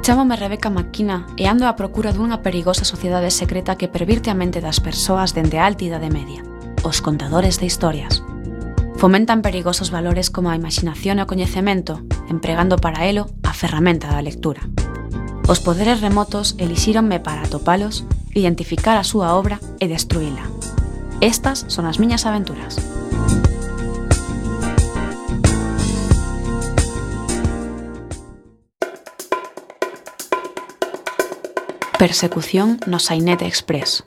Chámome Rebeca Maquina e ando á procura dunha perigosa sociedade secreta que pervirte a mente das persoas dende a alta idade media, os contadores de historias. Fomentan perigosos valores como a imaginación e o coñecemento, empregando para elo a ferramenta da lectura. Os poderes remotos elixíronme para atopalos, identificar a súa obra e destruíla. Estas son as miñas aventuras. Persecución no Sainete Express.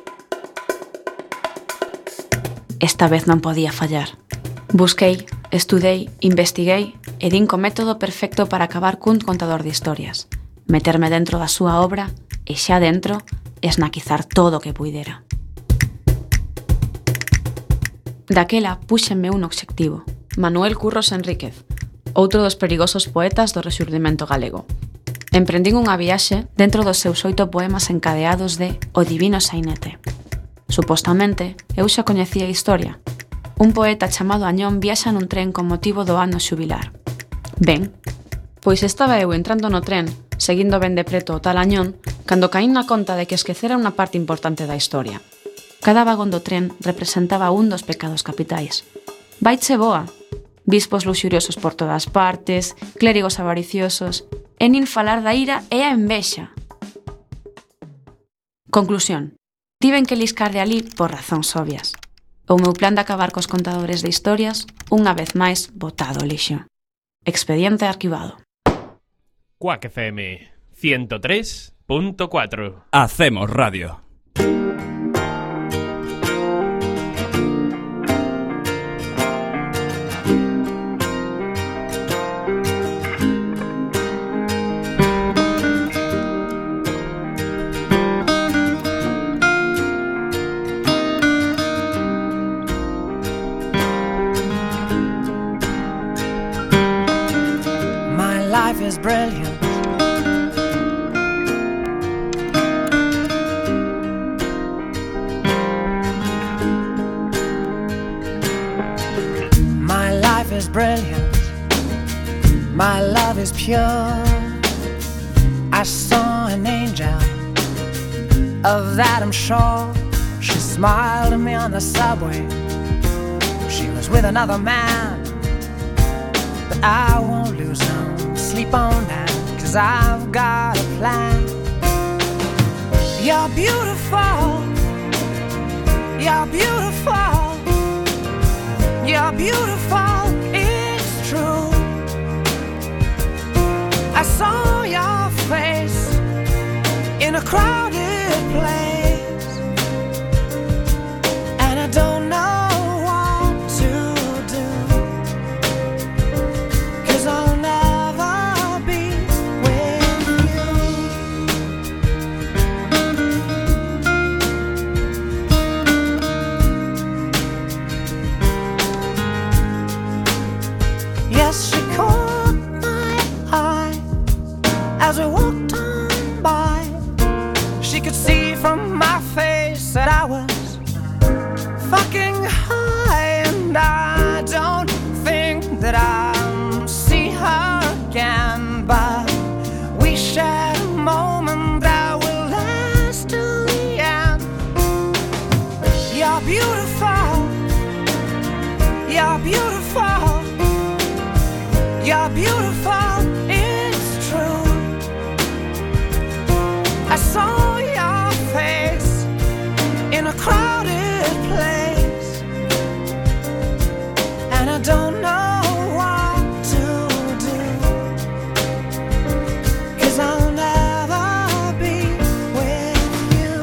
Esta vez non podía fallar. Busquei, estudei, investiguei e din co método perfecto para acabar cun contador de historias. Meterme dentro da súa obra e xa dentro esnaquizar todo o que puidera. Daquela púxenme un obxectivo. Manuel Curros Enríquez, outro dos perigosos poetas do Rexurdimento galego. Emprendín unha viaxe dentro dos seus 8 poemas encadeados de O Divino Sainete. Supostamente, eu xa coñecía a historia. Un poeta chamado Añón viaxa nun tren con motivo do ano xubilar. Ben, pois estaba eu entrando no tren, seguindo ben de preto o tal Añón, cando caín na conta de que esquecera unha parte importante da historia. Cada vagón do tren representaba un dos pecados capitais. Vaiche boa! Bispos luxuriosos por todas partes, clérigos avariciosos, e nin falar da ira e a envexa. Conclusión. Tiven que liscar de ali por razóns obvias. O meu plan de acabar cos contadores de historias, unha vez máis, botado ao lixo. Expediente arquivado. Quack FM 103.4. Hacemos radio. Is brilliant. My life is brilliant. My love is pure. I saw an angel, of that I'm sure. She smiled at me on the subway. She was with another man, but I won't lose no sleep on that, 'cause I've got a plan. You're beautiful. You're beautiful. You're beautiful. It's true. I saw your face in a crowded place, and I don't know what to do, 'cause I'll never be with you. Yes, she caught my eye as we walked on by. She could see from my face that I was fucking high, and I don't think that I'll see her again, but we shared a moment that will last till the end. You're beautiful. You're beautiful. You're beautiful. It's true. I saw your face in a crowded place, and I don't know what to do, 'cause I'll never be with you.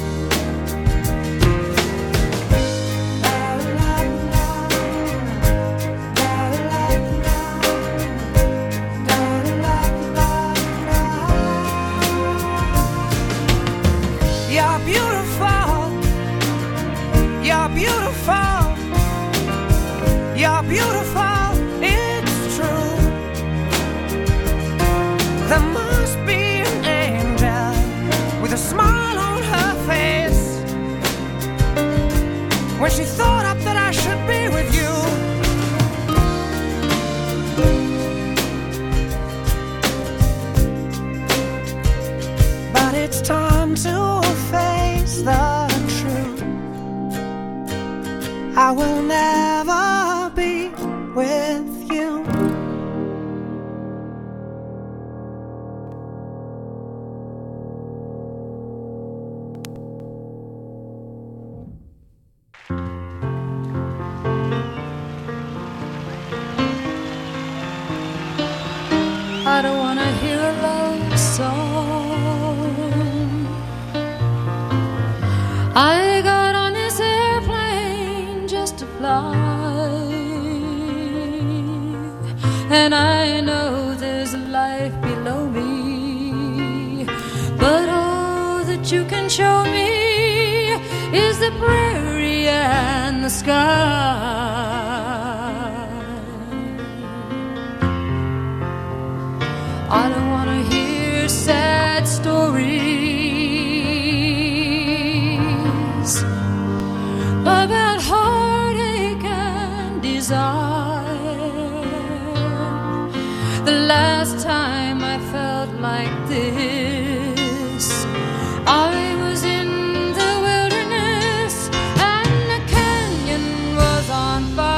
La, la, la. La, la, la. La, la, la, la. You're beautiful. You're beautiful. You're beautiful. with you. I don't wanna hear a love song. I got on this airplane just to fly, and I know there's a life below me, but all that you can show me is the prairie and the sky. I don't want to hear sad stories about heartache and desire. The last time I felt like this, I was in the wilderness and the canyon was on fire.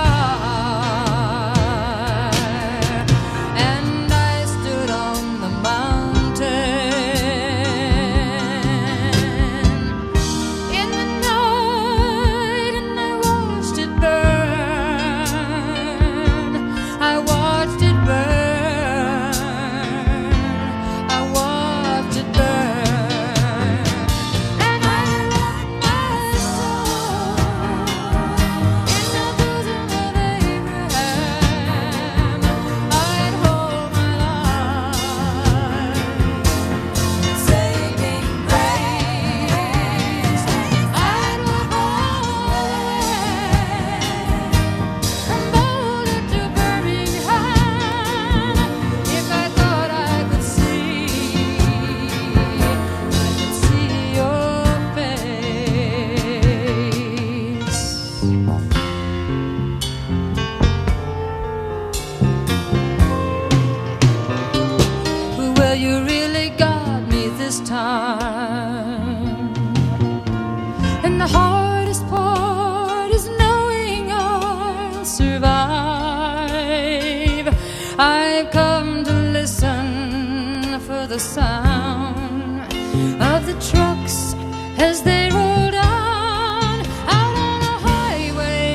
The sound of the trucks as they roll down out on the highway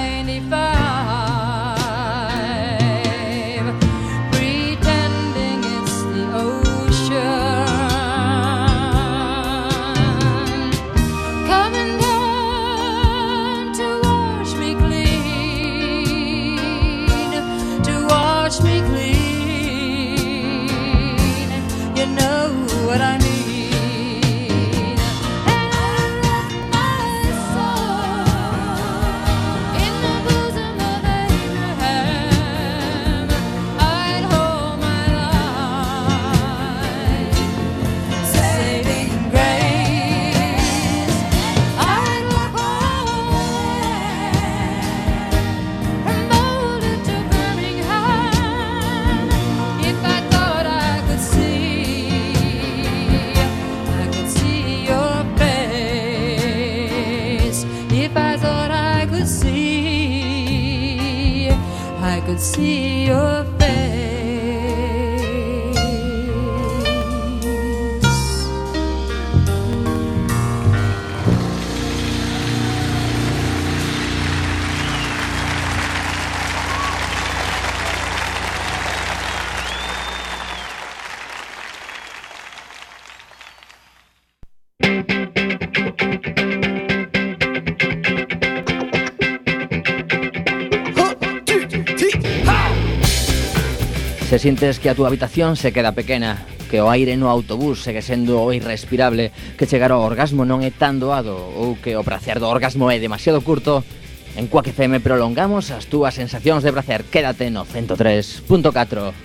95, pretending it's the ocean coming down to wash me clean, to wash me clean. You know what I mean. And I left my soul in the bosom of Abraham. I'd hold my life, saving grace. I'd walk away from Boulder to Birmingham if I thought I could see. I could see your face. Se sientes que a túa habitación se queda pequena, que o aire no autobús segue sendo irrespirable, que chegar ao orgasmo non é tan doado ou que o prazer do orgasmo é demasiado curto, en Quack FM prolongamos as túas sensacións de prazer. Quédate no 103.4.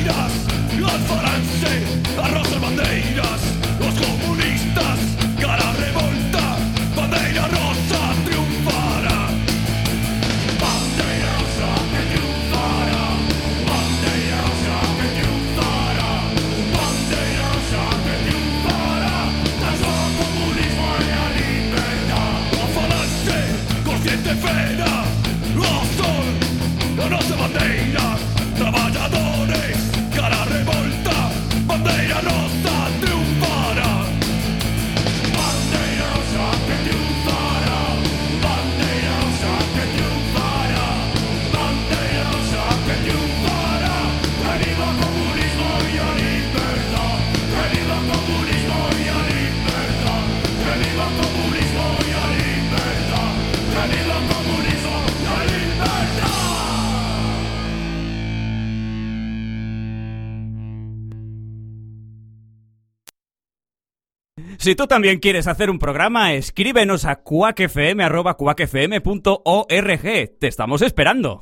bandeiras, alfaranse, arrosan bandeiras, os comunistas, cara revolta, bandeira rosa triunfará. Bandeira rosa que triunfará, bandeira rosa que triunfará, bandeira rosa que triunfará, transforma o comunismo e a liberdade. A falange, consciente fera, o sol, a nosa bandeira, traballadores, cara revolta, bandeira rosa triunfará. Bandeira rosa que triunfará, bandeira rosa que triunfará, bandeira rosa que triunfará. Que viva o comunismo e a liberdade, que viva o comunismo e a liberdade, que viva o comunismo e a liberdade, que viva o comunismo e a liberdade. Si tú también quieres hacer un programa, escríbenos a quackfm@quackfm.org. Te estamos esperando.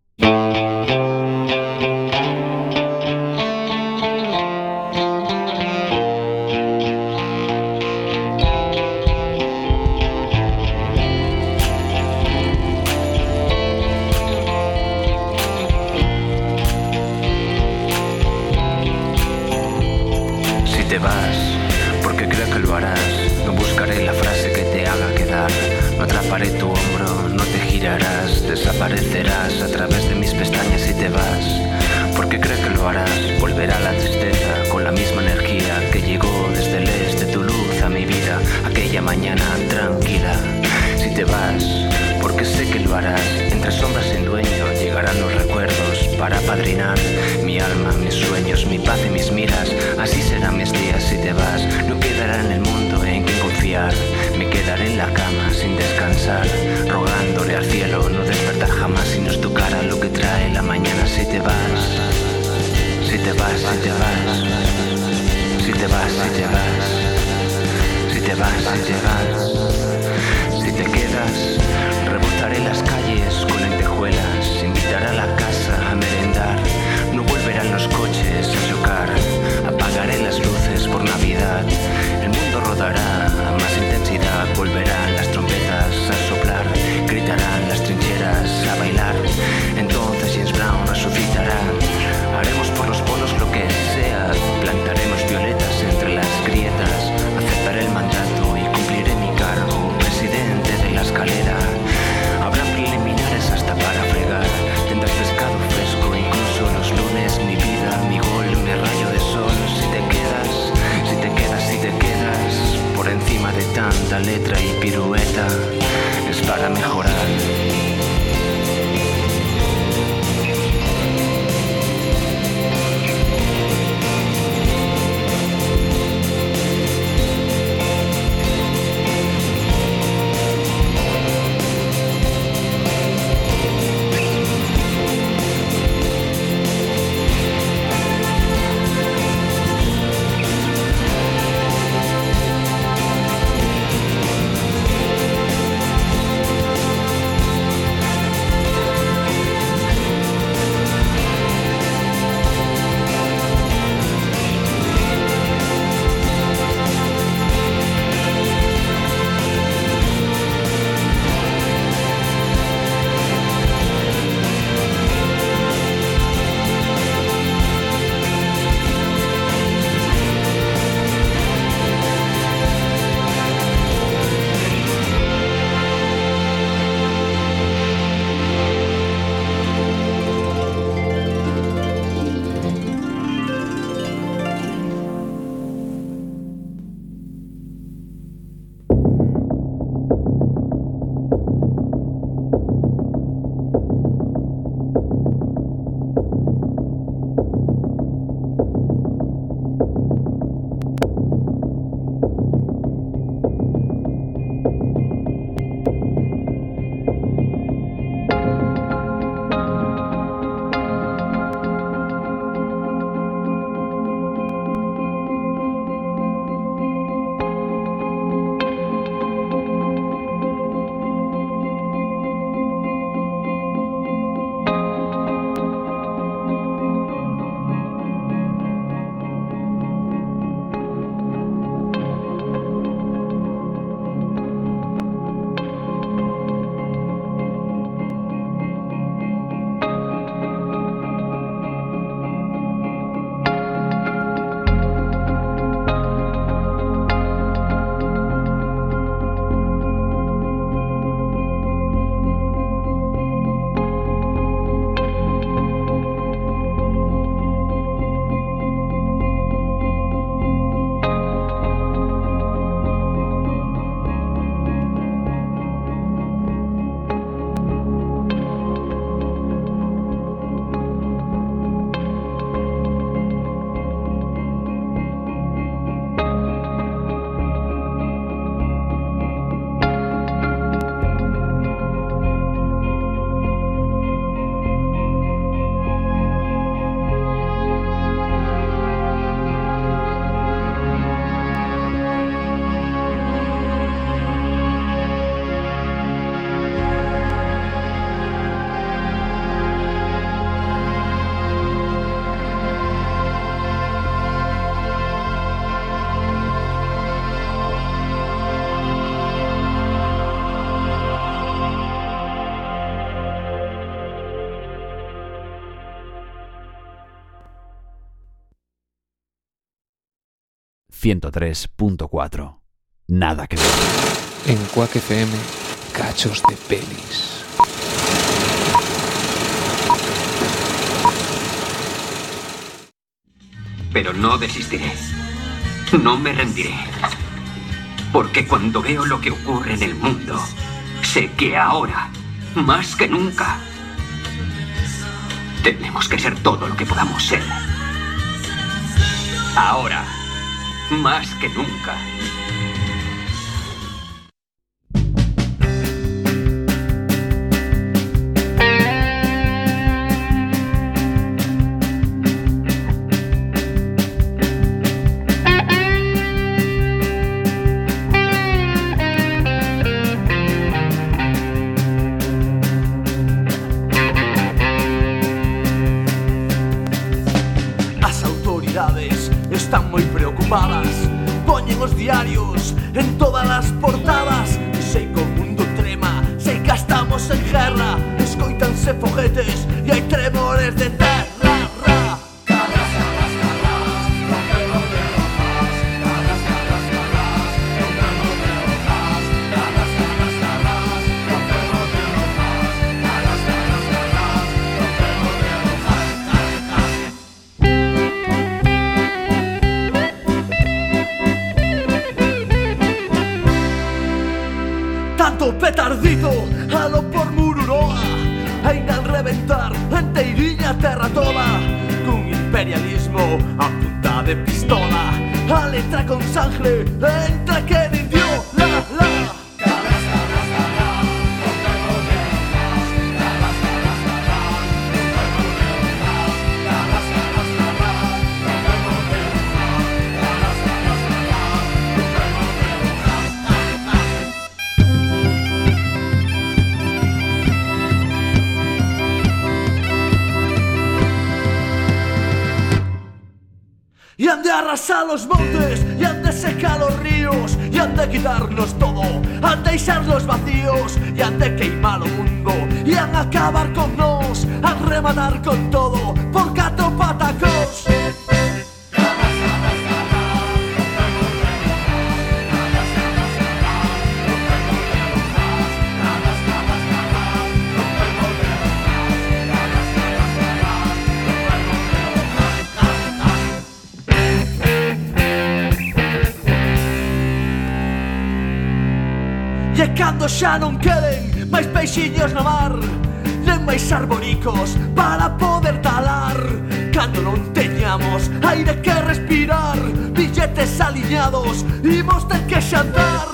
Si te vas, porque creo que lo harás, no buscaré la frase que te haga quedar, no atraparé tu hombro, no te girarás, desaparecerás a través de mis pestañas si te vas, porque creo que lo harás, volverá la tristeza con la misma energía que llegó desde el este, tu luz a mi vida, aquella mañana tranquila. Si te vas, porque sé que lo harás, entre sombras sin dueño llegarán los recuerdos para apadrinar mi alma, mis sueños, mi paz y mis miras. Así serán mis días si te vas, no quedará en el mundo en quien confiar, me quedaré en la cama sin descansar, rogándole al cielo no despertar jamás y no es tu cara lo que trae la mañana. Si te vas, si te vas, si te vas, si te vas, si te vas, si te vas, si te vas. Si te quedas, rebotaré las calles con lentejuelas, invitaré a la casa a merendar, no volverán los coches a chocar, apagaré las luces por Navidad, el mundo rodará a más intensidad, volverán las trompetas a soplar, gritarán las trincheras a bailar, entonces James Brown resucitará, haremos por los polos lo que sea, plantaremos violetas entre las grietas, aceptaré el mandato y cumpliré 103.4. Nada que ver. En Quack FM, cachos de pelis. Pero no desistiré. No me rendiré. Porque cuando veo lo que ocurre en el mundo, sé que ahora, más que nunca, tenemos que ser todo lo que podamos ser. Ahora, más que nunca. Están moi preocupadas, poñen os diarios en todas as portadas. Sei que o mundo trema, sei que estamos en guerra. Escoítanse foguetes e hai tremores de terra. Petardito, alo por Mururoa, ainda reventar enteiriña terra toda. Cun imperialismo a punta de pistola, a letra con sangre entra que dio la la. Y han de arrasar los montes, y han de secar los ríos, y han de quitarnos todo, han de deixarlos vacíos, y han de queimar o mundo, y han acabar con nos, han rematar con todo, por 4 patacos. E cando xa non queden máis peixiños no mar, nen máis arboricos para poder talar. Cando non teñamos aire que respirar, billetes aliñados, imos ter que xantar.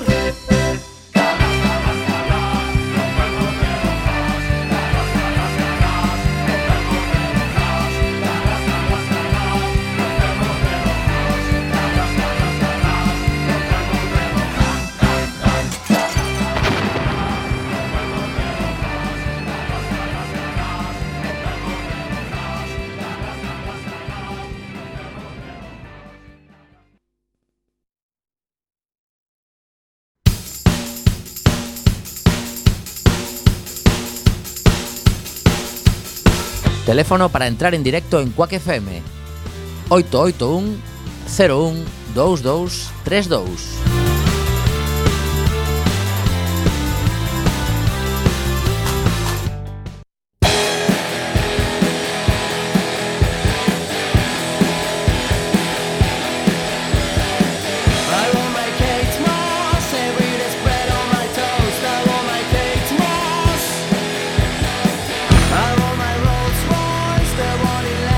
Teléfono para entrar en directo en Quack FM 881 01 22 32.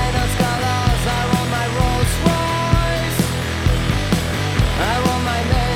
I want my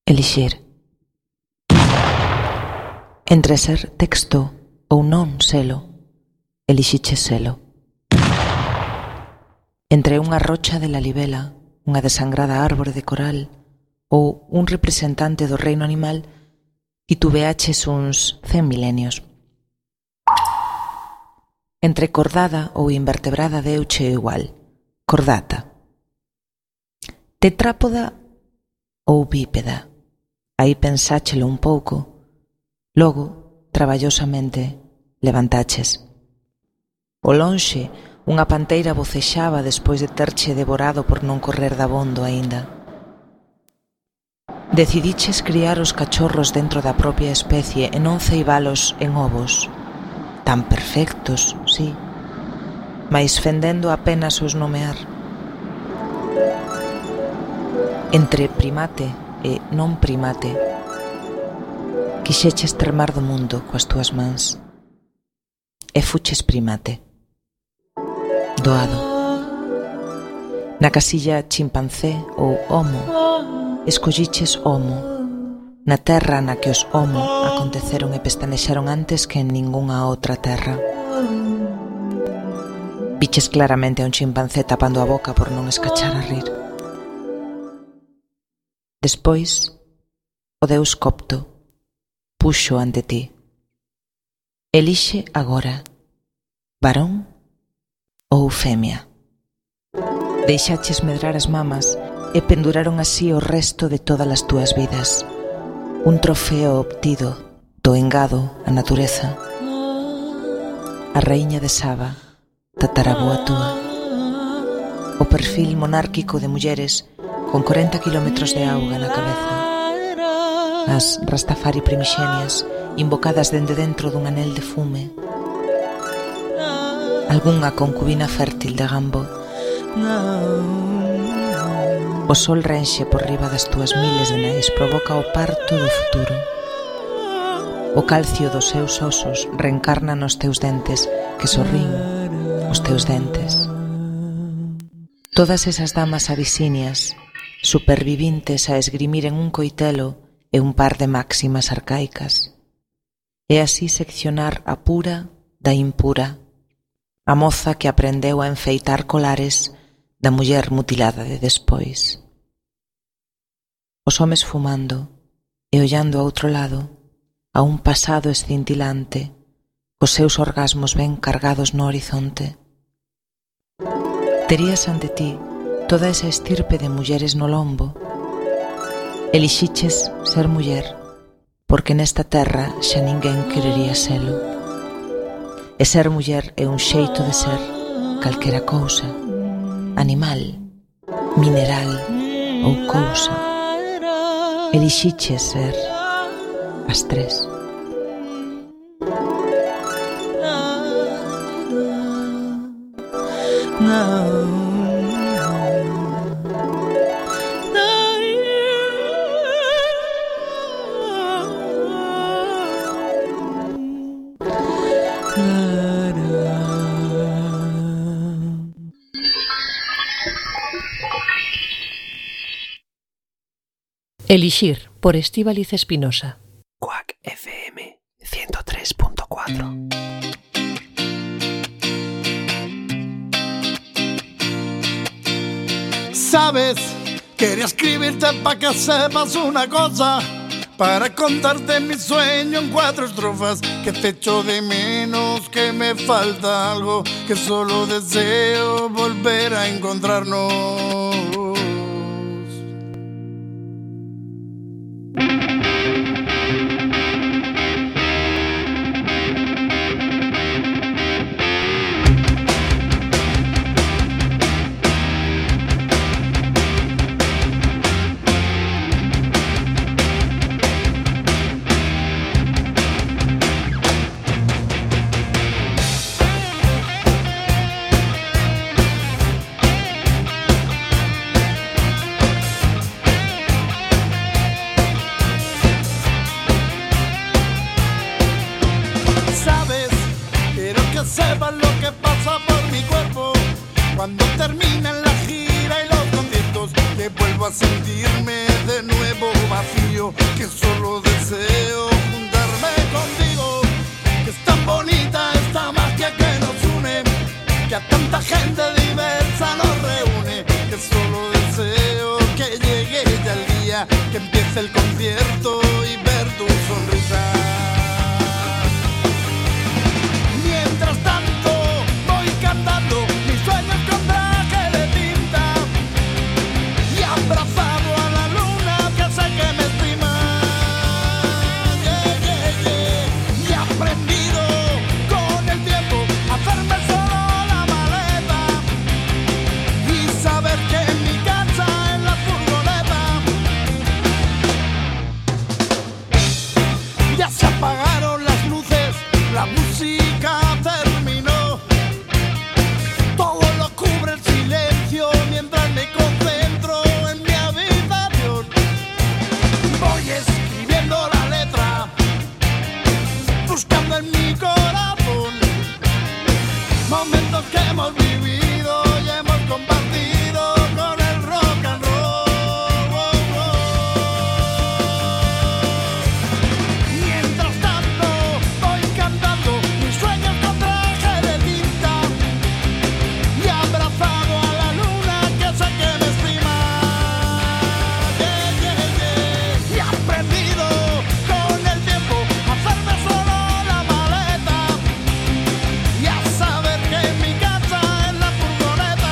Elixir. Entre ser texto ou non selo, elixiches selo. Entre unha rocha de la libela, unha desangrada árbore de coral ou un representante do reino animal, titubeaches uns 100 milenios. Entre cordada ou invertebrada deuche igual, cordata. Tetrápoda ou bípeda, aí pensáchelo un pouco, logo, traballosamente, levantaches. O lonxe, unha panteira vocexaba despois de terche devorado por non correr dabondo aínda. Decidiches criar os cachorros dentro da propia especie e non ceibalos en ovos. Tan perfectos, sí, mais fendendo apenas os nomear. Entre primate e non primate, quixeches tremar do mundo coas túas mans e fuches primate. Doado. Na casilla chimpancé ou homo, escolliches homo, na terra na que os homo aconteceron e pestanexaron antes que en ningunha outra terra. Viches claramente a un chimpancé tapando a boca por non escachar a rir. Despois, o deus Copto puxo ante ti. Elixe agora, varón ou femia. Deixaches medrar as mamas e penduraron así o resto de todas as túas vidas. Un trofeo obtido do engado a natureza. A raíña de Saba, tatarabúa túa. O perfil monárquico de mulleres con 40 kilómetros de auga na cabeza. As Rastafari primixenias invocadas dende dentro dun anel de fume. Algunha concubina fértil de Gambo. O sol renxe por riba das túas miles de nais, provoca o parto do futuro. O calcio dos seus osos reencarna nos teus dentes, que sorrín os teus dentes. Todas esas damas abisinias, supervivintes a esgrimir en un coitelo e un par de máximas arcaicas. E así seccionar a pura da impura, a moza que aprendeu a enfeitar colares da muller mutilada de despois. Os homes fumando e ollando a outro lado, a un pasado escintilante, cos seus orgasmos ben cargados no horizonte. Terías ante ti toda esa estirpe de mulleres no lombo. Elixiches ser muller, porque nesta terra xa ninguén querería selo. E ser muller é un xeito de ser calquera cousa, animal, mineral ou cousa. Elixiches ser as tres. Elixir, por Estíbaliz Espinosa. Quack FM 103.4. Sabes, quería escribirte para que sepas una cosa, para contarte mi sueño en 4 estrofas, que te echo de menos, que me falta algo, que solo deseo volver a encontrarnos. Sepas lo que pasa por mi cuerpo cuando termina la gira y los conciertos, que vuelvo a sentirme de nuevo vacío. frío, que solo deseo juntarme contigo, que es tan bonita esta magia que nos une, que a tanta gente diversa nos reúne, que solo deseo que llegue ya el día, que empiece el concierto y ver tu sonrisa. Mientras tanto voy cantando mis sueños con traje de tinta y abrazado a la luna que sé que me estima. Yeah, yeah, yeah. Y he aprendido con el tiempo a hacerme solo la maleta y saber que en mi casa, en la furgoneta, ya se apagaron las luces, la música terminó, todo lo cubre el silencio mientras me concentro en mi habitación. Voy escribiendo la letra, buscando en mi corazón momentos que hemos vivido y hemos compartido con el rock and roll. Mientras tanto voy cantando mis sueños con traje de tinta y abrazado a la luna que sé que me estima. Yeah, yeah, yeah. Y he aprendido con el tiempo a hacerme solo la maleta y a saber que en mi casa, en la furgoneta,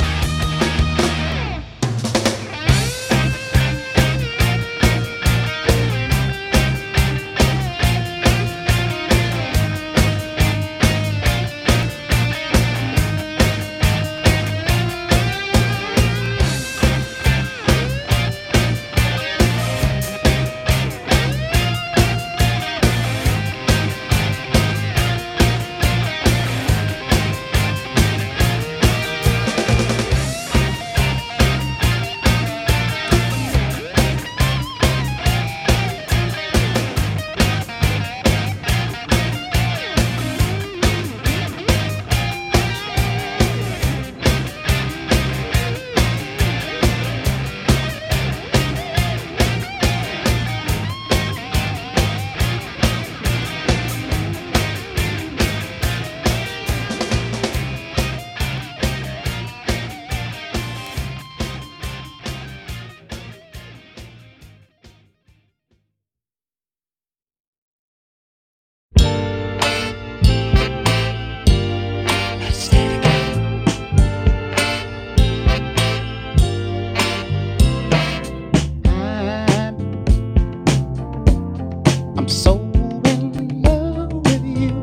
I'm so in love with you.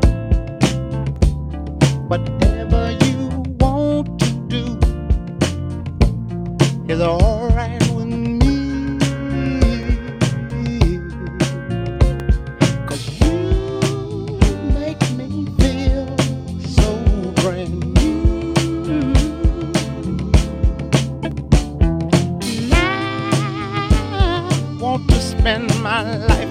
Whatever you want to do is alright with me. 'Cause you make me feel so brand new. And I want to spend my life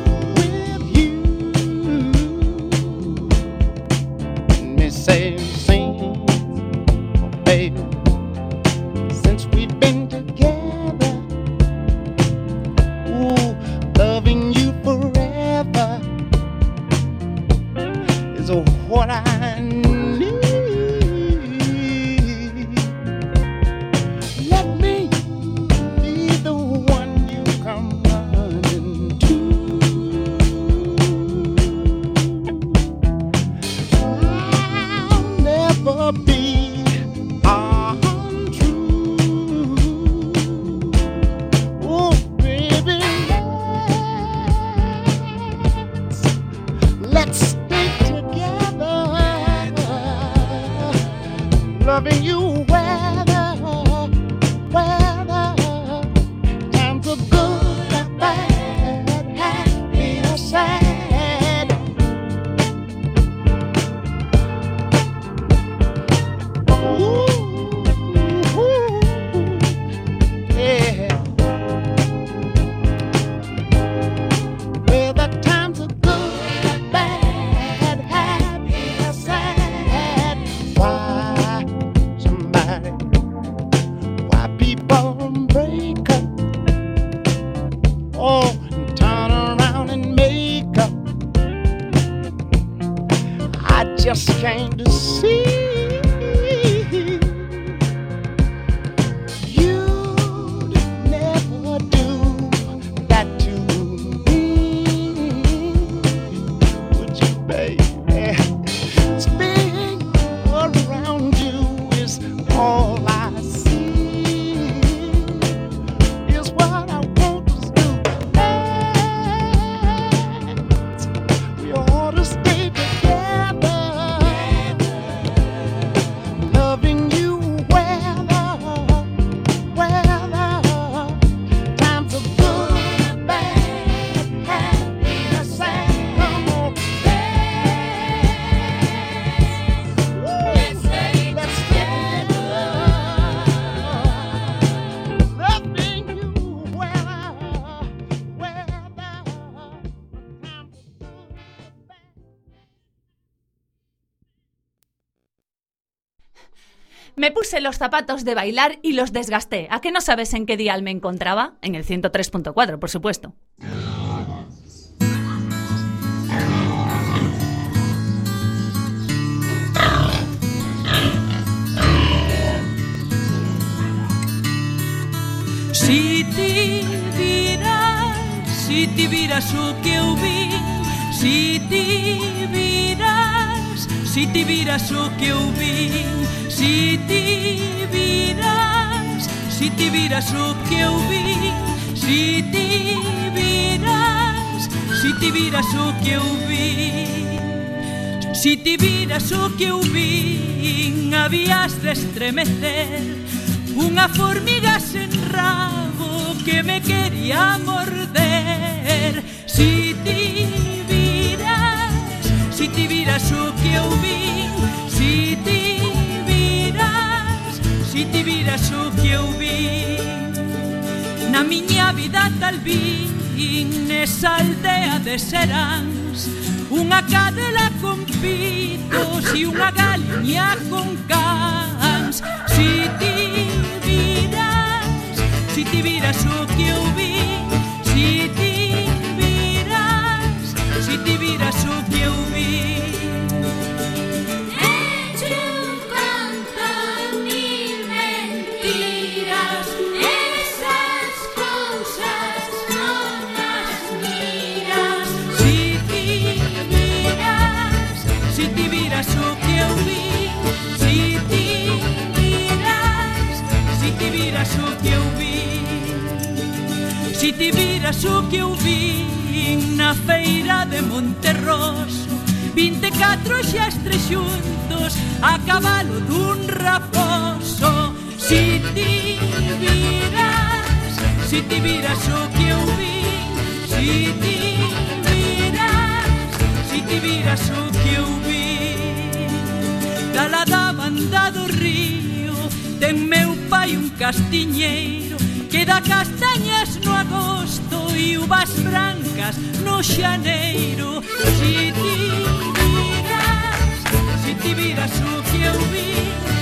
say, sing, oh baby, since we've been together, ooh, loving you forever is what I need. Let me be the one you come running to. Me puse los zapatos de bailar y los desgasté. ¿A qué no sabes en qué dial me encontraba? En el 103.4, por supuesto. Si ti viras o que eu vi, si ti viras o que eu vi, si ti viras o que eu vi, si ti viras o que eu vi, si ti viras o que eu vi, habías de estremecer unha formiga sen rabo que me quería morder. Si ti viras o que eu vi, si ti viras o que eu vi, na miña vida tal vin nesa aldea de Seráns unha cadela con pitos e unha galiña con cans. Si ti viras o que eu vi, si ti viras o que eu vi. Eche un canto mil mentiras, esas cousas non as miras. Si ti viras o que eu vi, si ti viras o que eu vi, si ti viras o que eu vi na feira de Monterroso, 24 xastres xuntos a cabalo dun raposo. Si ti viras o que eu vi, si ti viras o que eu vi, dala da banda do río ten meu pai un castiñeiro que dá castañas no agosto e uvas brancas no xaneiro. Si ti viras o que eu vi,